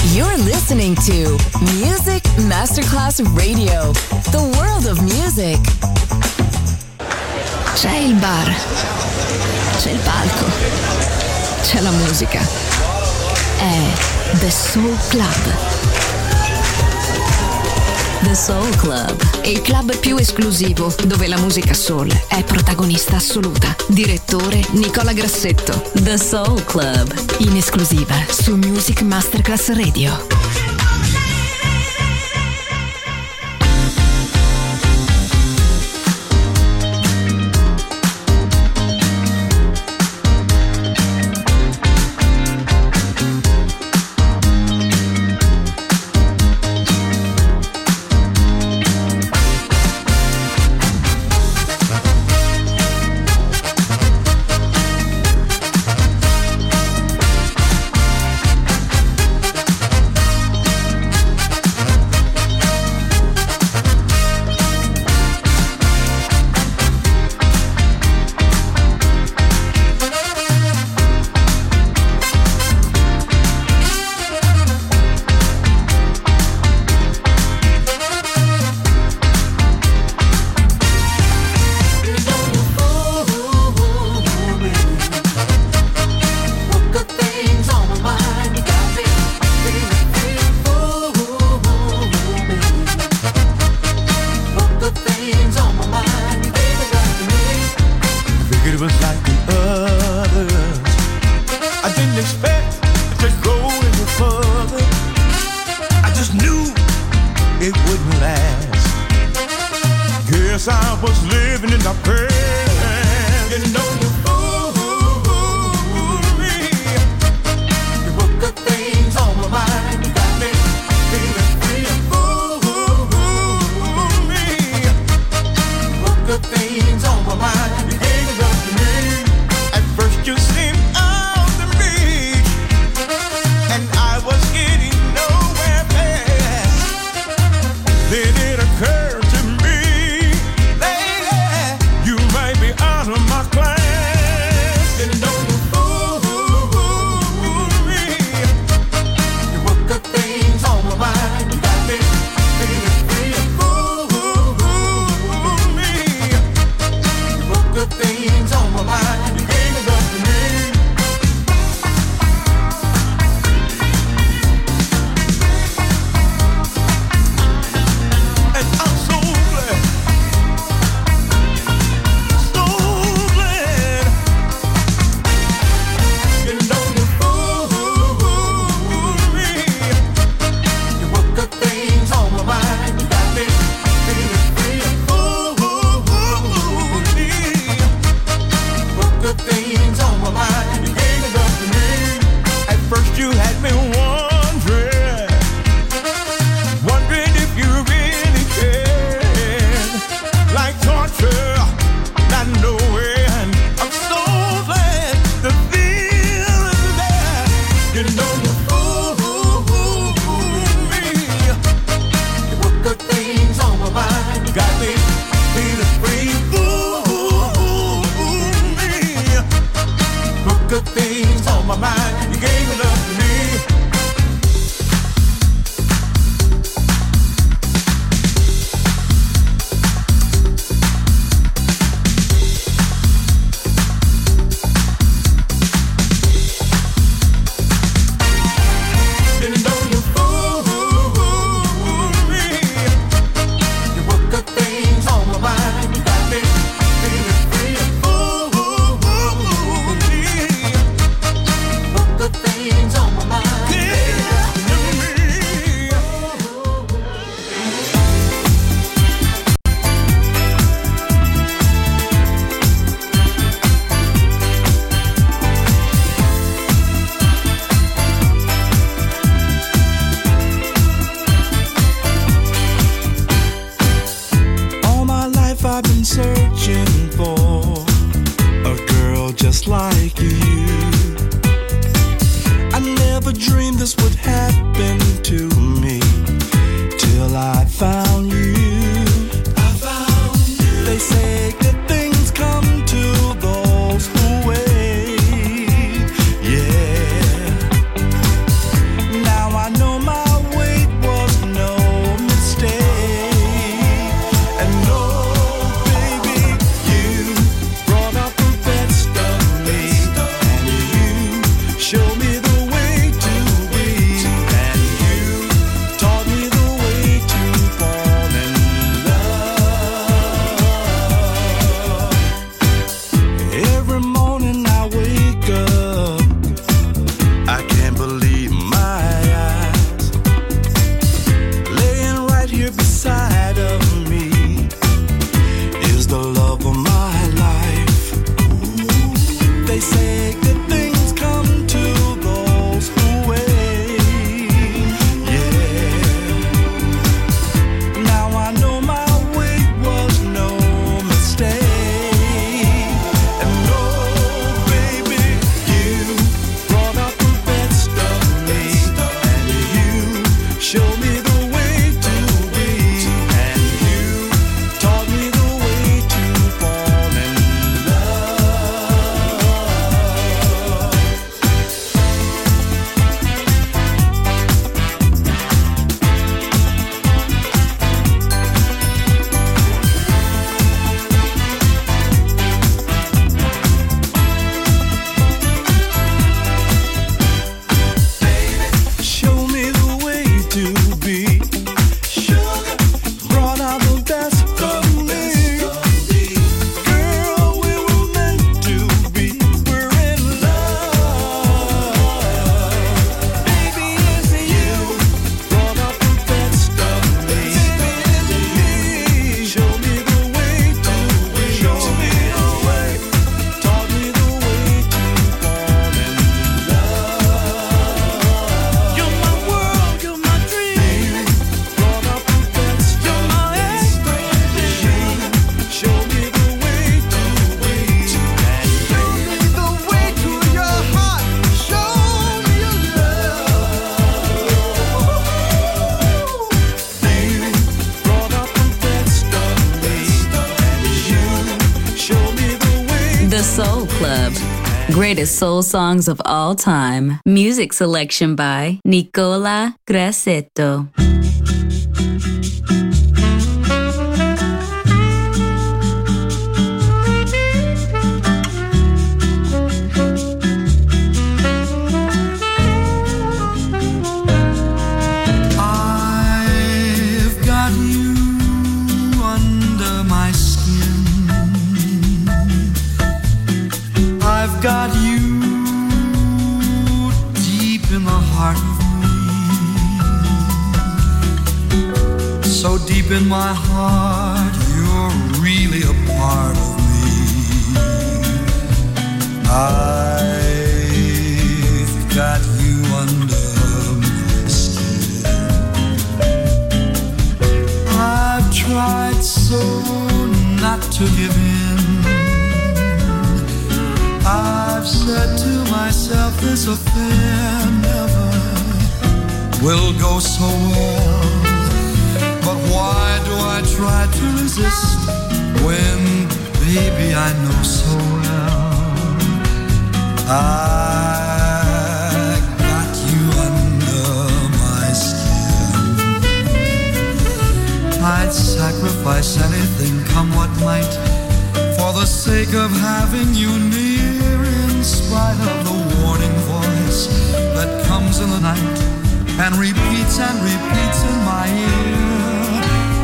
You're listening to Music Masterclass Radio, the world of music. C'è il bar, c'è il palco, c'è la musica. È The Soul Club. The Soul Club, il club più esclusivo dove la musica soul è protagonista assoluta. Direttore Nicola Grassetto. The Soul Club, in esclusiva su Music Masterclass Radio. Then it occurred to me, lady, you greatest soul songs of all time. Music selection by Nicola Grassetto. Got you deep in the heart of me, so deep in my heart, you're really a part of me. I've got you under my skin. I've tried so not to give in. I've said to myself, this affair never will go so well. But why do I try to resist when, baby, I know so well I got you under my skin. I'd sacrifice anything, come what might, for the sake of having you near. In spite of the warning voice that comes in the night and repeats in my ear.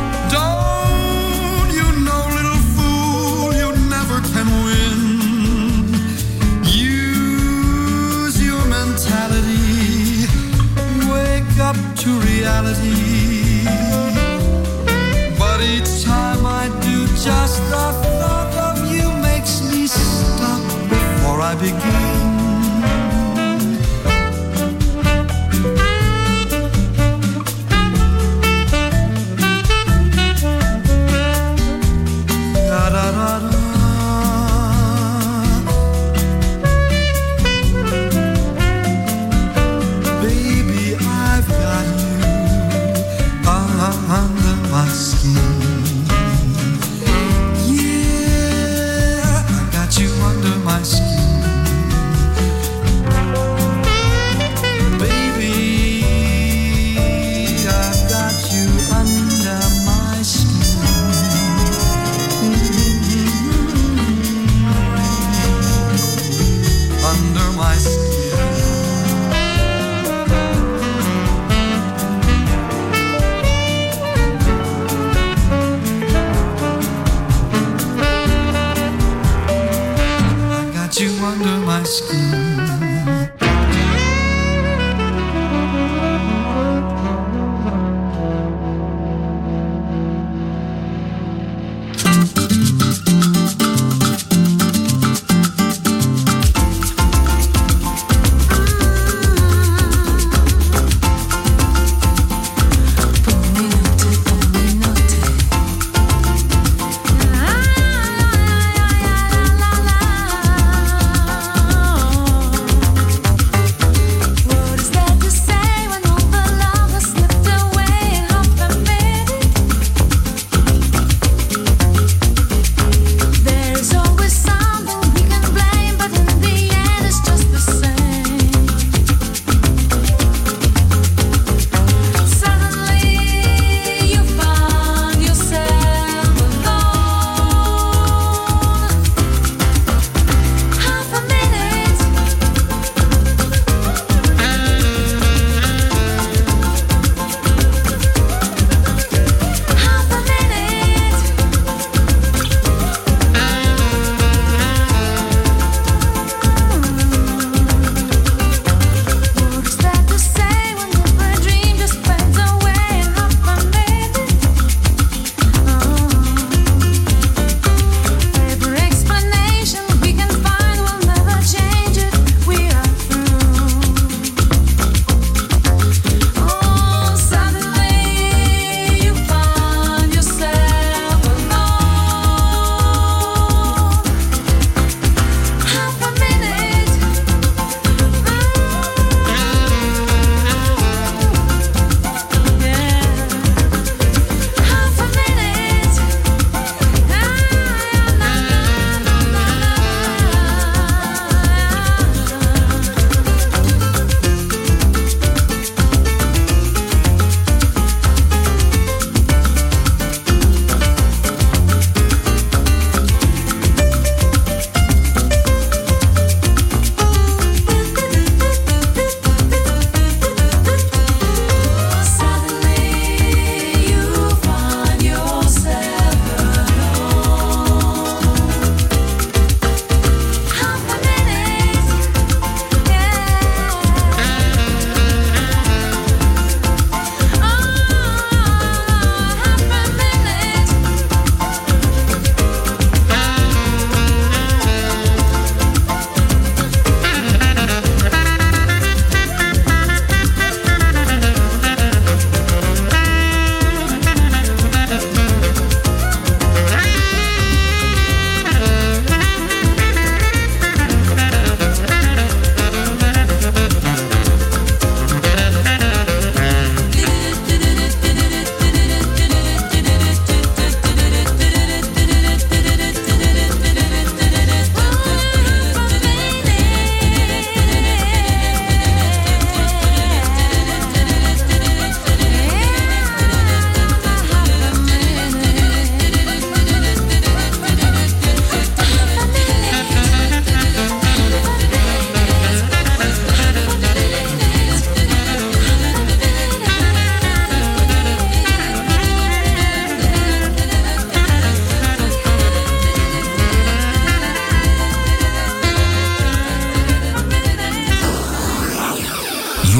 Don't you know, little fool, you never can win. Use your mentality, wake up to reality. But each time I do, just the thought of you makes me stop before I begin. Da da da da. Baby, I've got you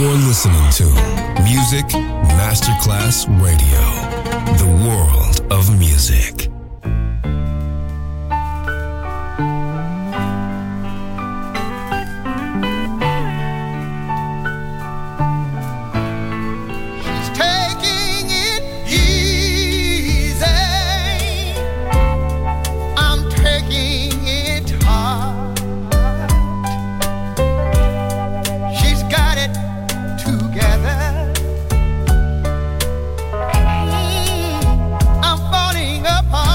You're listening to Music Masterclass Radio, the world of music. I'm falling apart.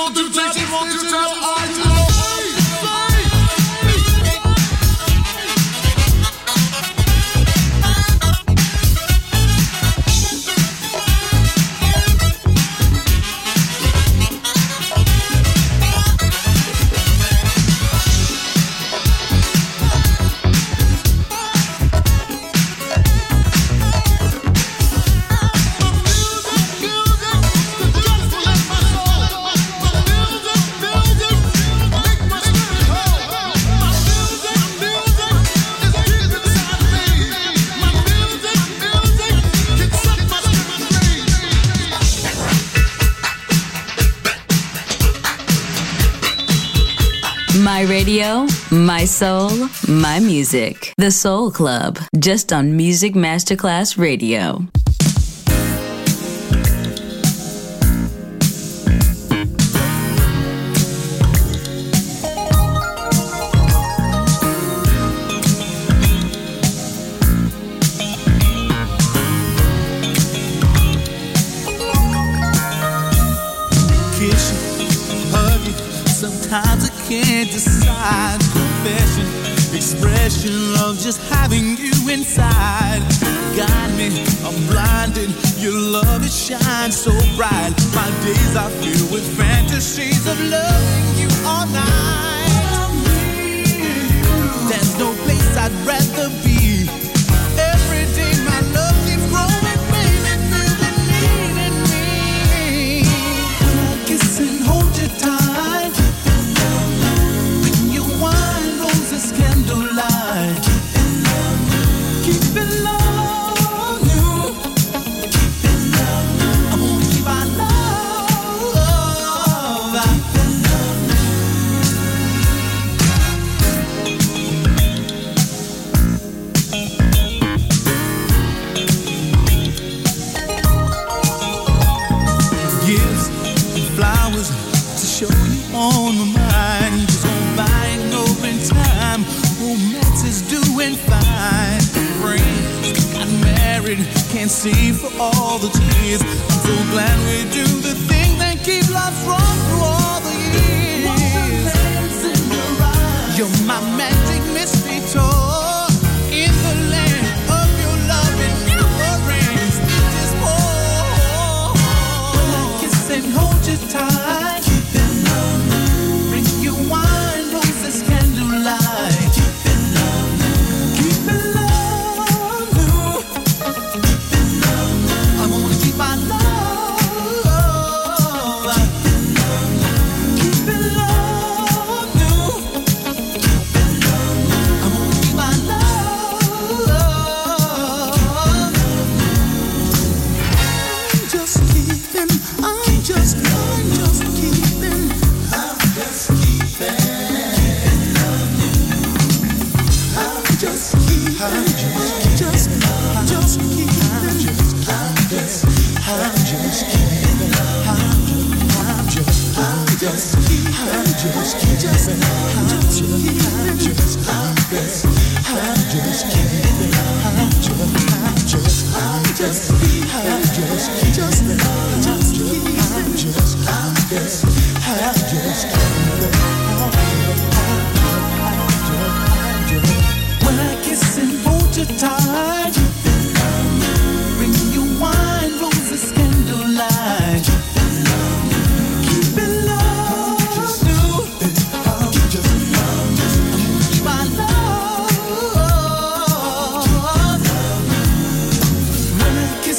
My radio, my soul, my music. The Soul Club, just on Music Masterclass Radio. Sometimes I can't decide. Confession, expression of just having you inside. Got me, I'm blinded. Your love, it shines so bright. My days are filled with fantasies of loving you all night. There's no place I'd rather be. Every day my love keeps growing, baby, feel the need in me. When I kiss and hold you tight, when you wine roses candlelight, keep it love you. Keep it love you. I wanna keep our love. Gifts and flowers to show you on my mind. Just on buying over in time. Romance is doing fine. Friends got married, can't see for all the tears. I'm so glad we do the thing that keep love strong through all the years. You're my magic mystery tour. In the land of your love and never rains. It is more. When I kiss and hold you tight, keep it love. Bring you wine, roses, candlelight. Keep it love. Keep it love. Keep it love. I wanna keep my love. Keep it love. Keep it love. I wanna keep my love. I'm just keeping. I'm just keeping. I'm just keeping. I'm just keeping. When I kiss and hold you tight, bring you wine, roses, candlelight. Keep it love, my love. When I kiss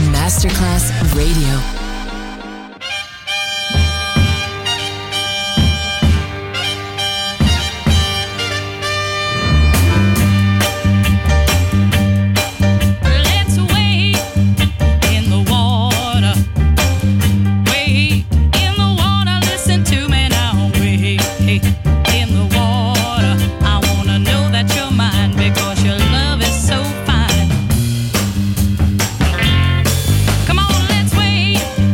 Masterclass Radio. Come on, let's wait.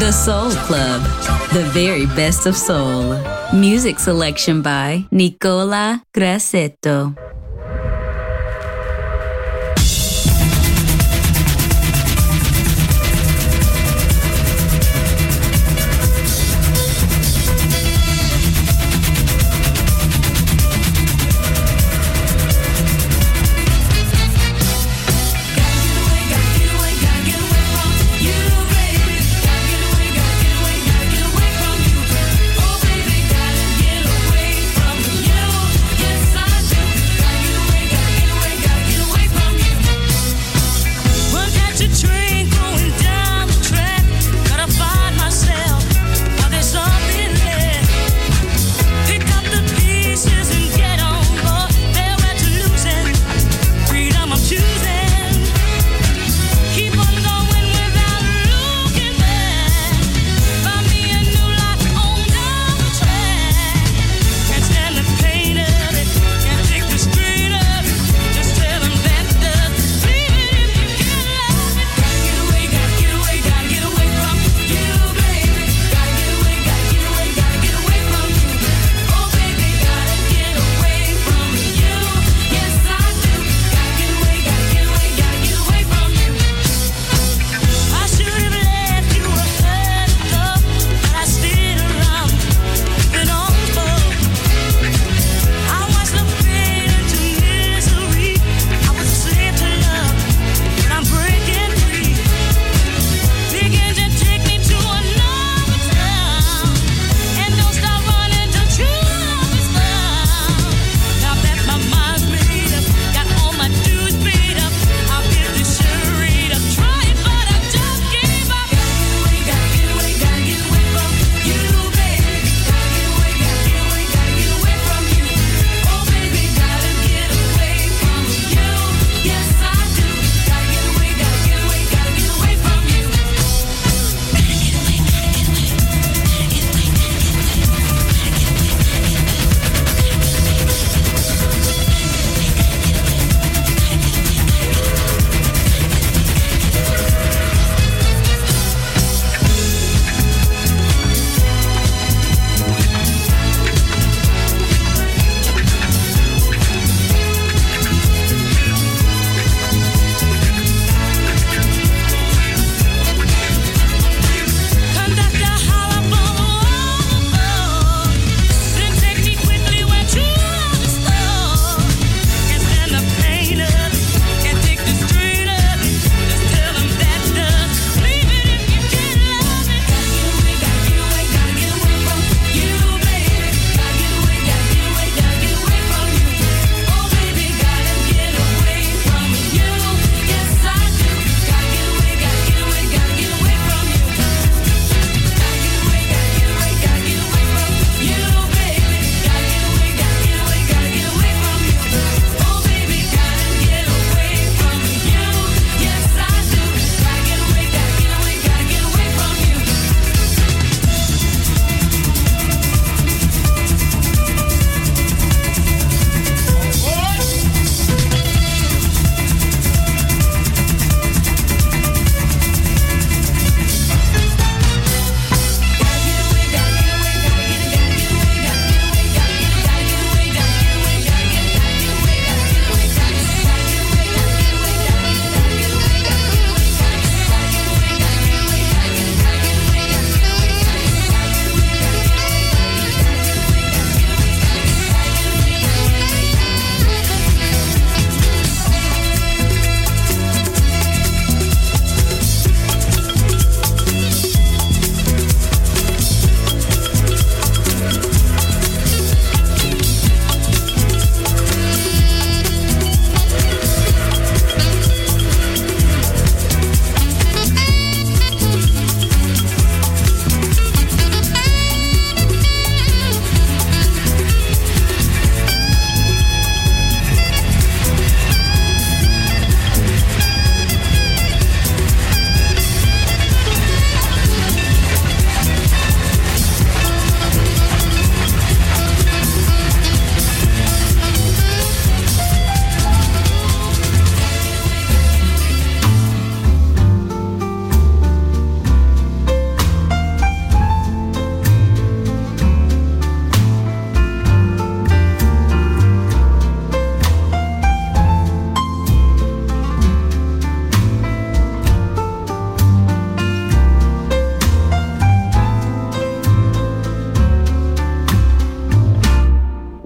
The Soul Club, the very best of soul. Music selection by Nicola Grassetto. Yes, I do.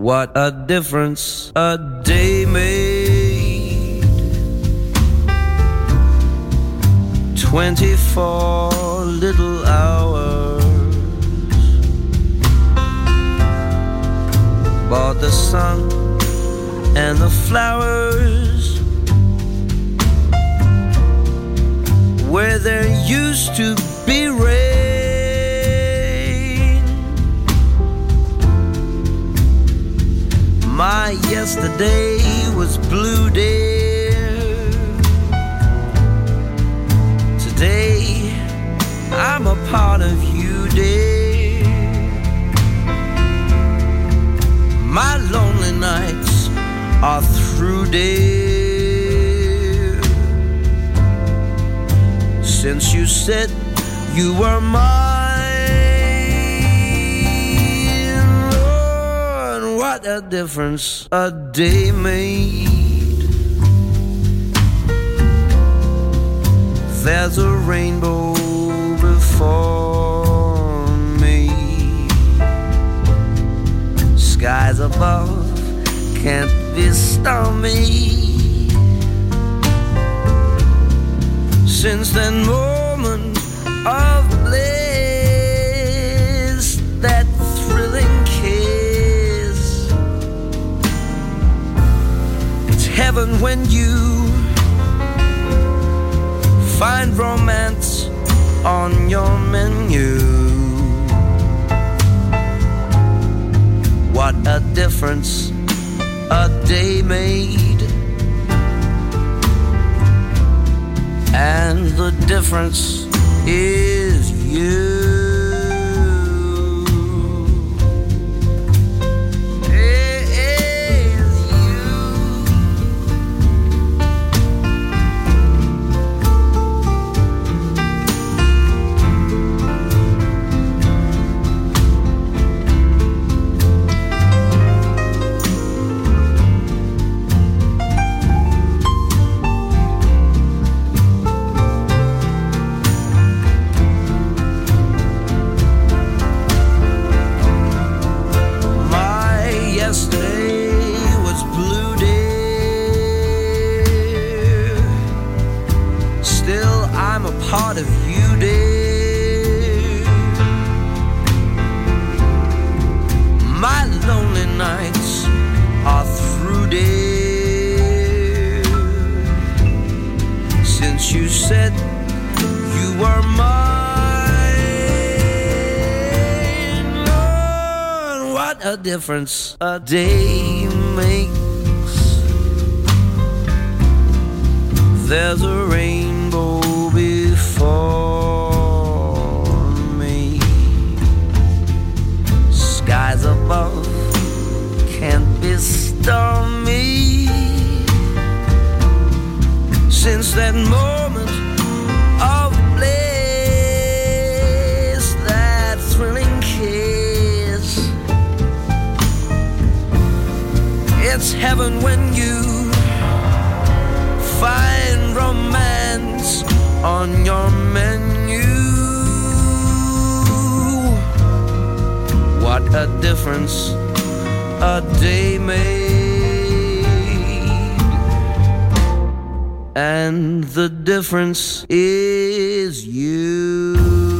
What a difference a day made. 24 little hours, bought the sun and the flowers where there used to be rain. My yesterday was blue, dear. Today I'm a part of you, dear. My lonely nights are through, dear. Since you said you were mine, Lord, what a difference a day made. There's a rainbow before me. Skies above can't be stormy. Since that moment of bliss, that thrilling kiss, it's heaven when you find romance on your menu. What a difference a day made. And the difference is you. Part of you, dear. My lonely nights are through, dear. Since you said you were mine, Lord, what a difference a day makes. There's a rainbow before me. Skies above can't be stormy. Since that moment of bliss, that thrilling kiss, it's heaven when you find romance on your menu. What a difference a day made. And the difference is you.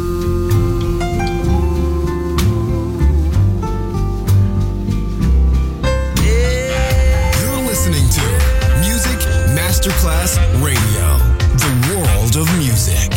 You're listening to Music Masterclass Radio. The world of music.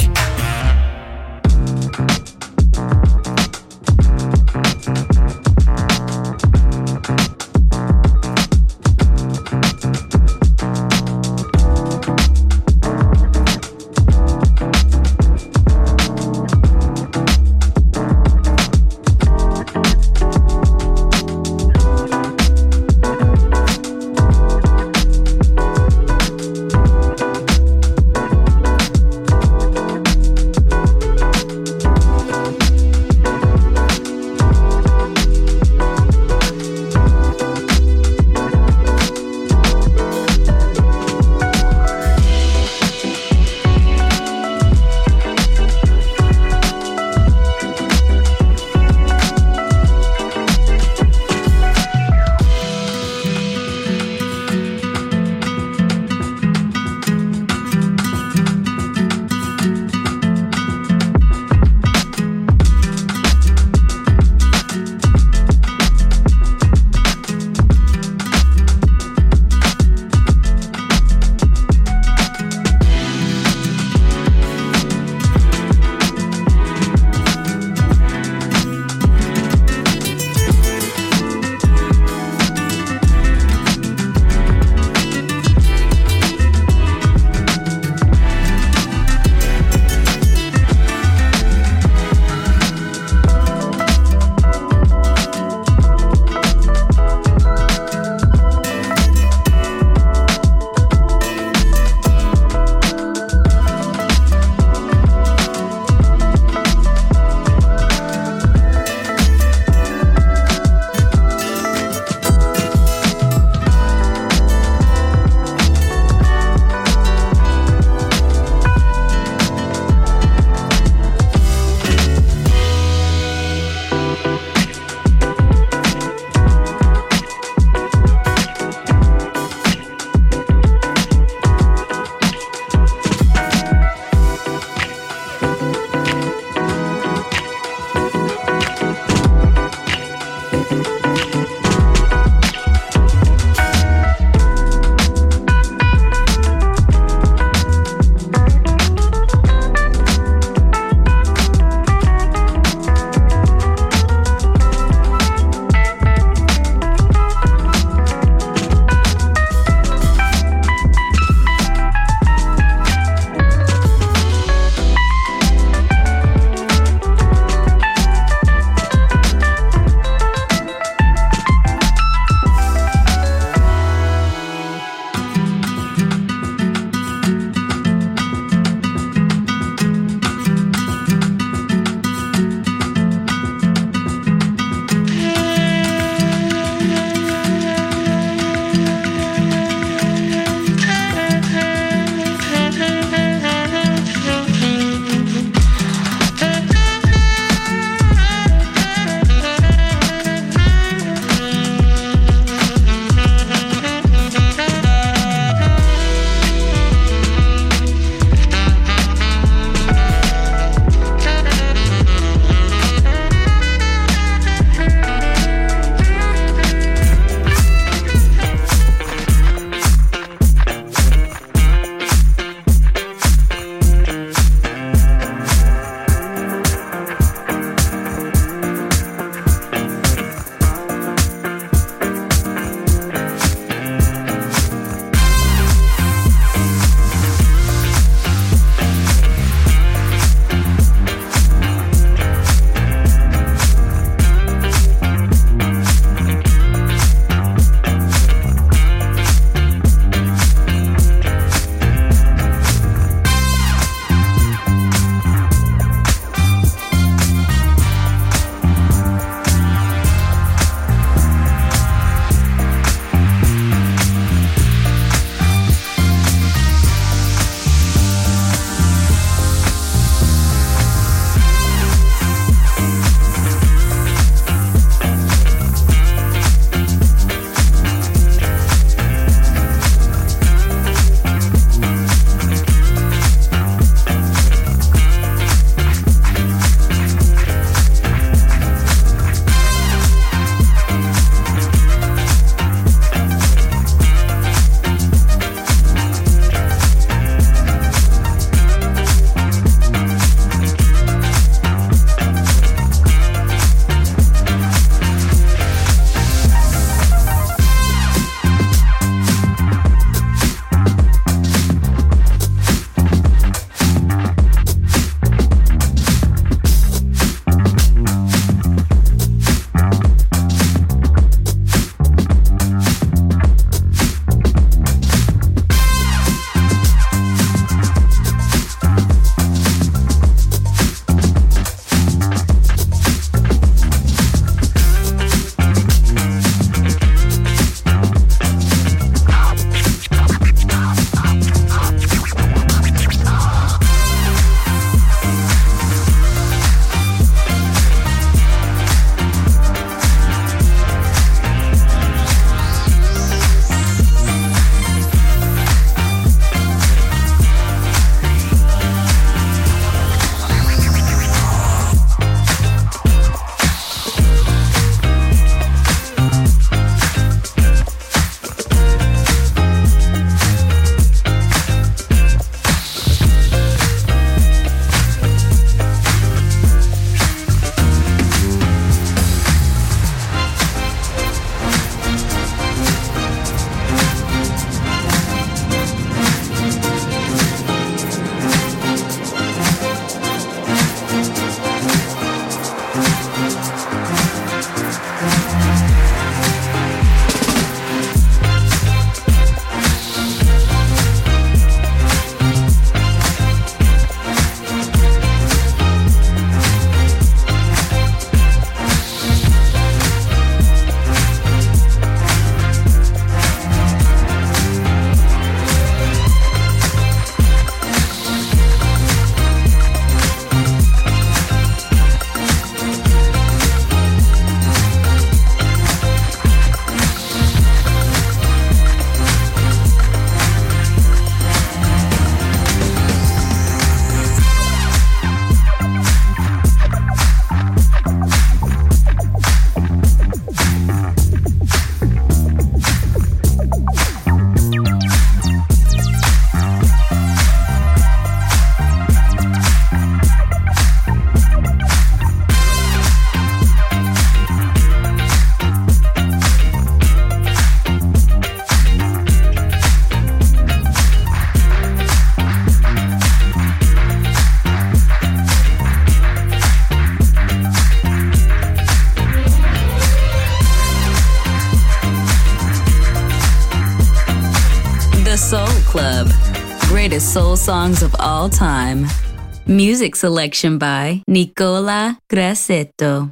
Soul Club. Greatest soul songs of all time. Music selection by Nicola Grassetto.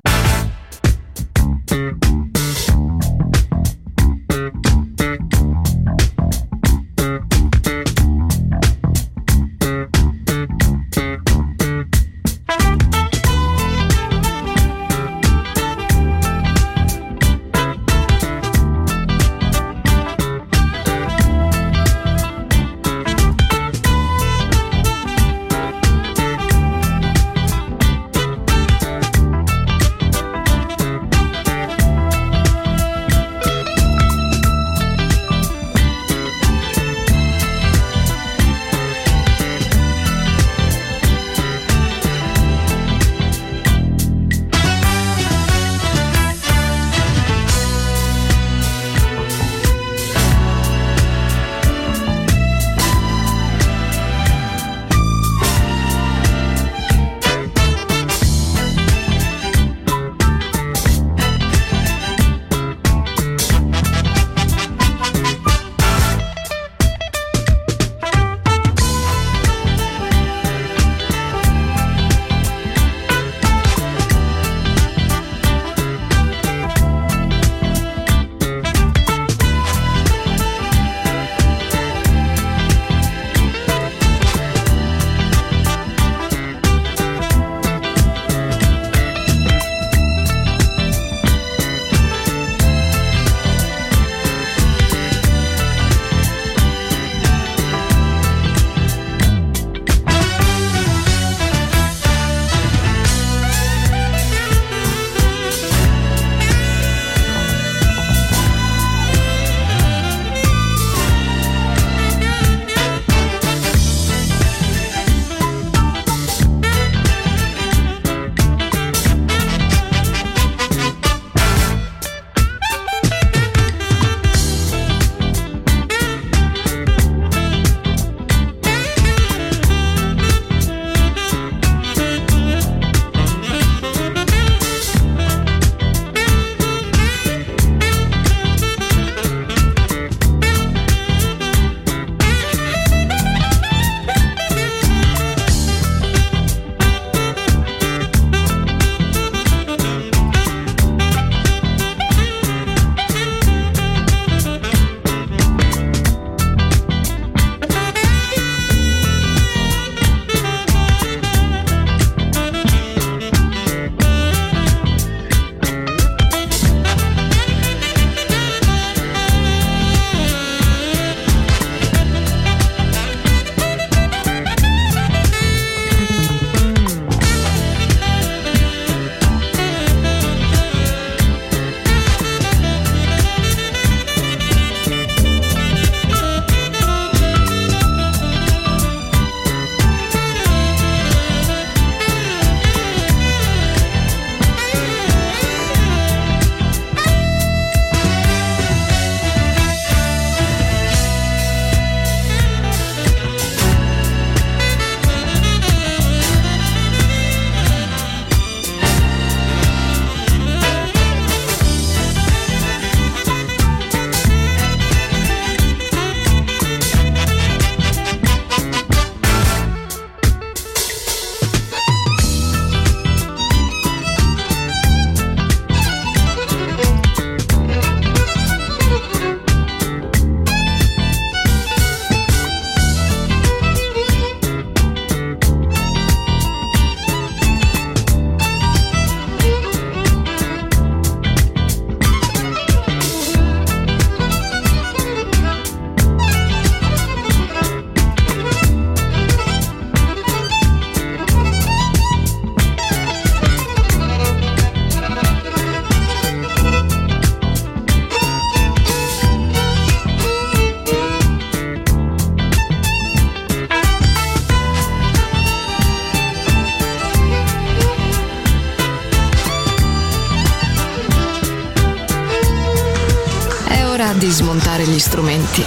Di smontare gli strumenti,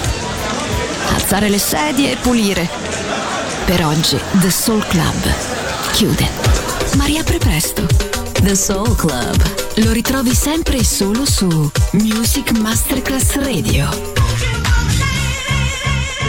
alzare le sedie e pulire. Per oggi The Soul Club chiude, ma riapre presto. The Soul Club lo ritrovi sempre e solo su Music Masterclass Radio.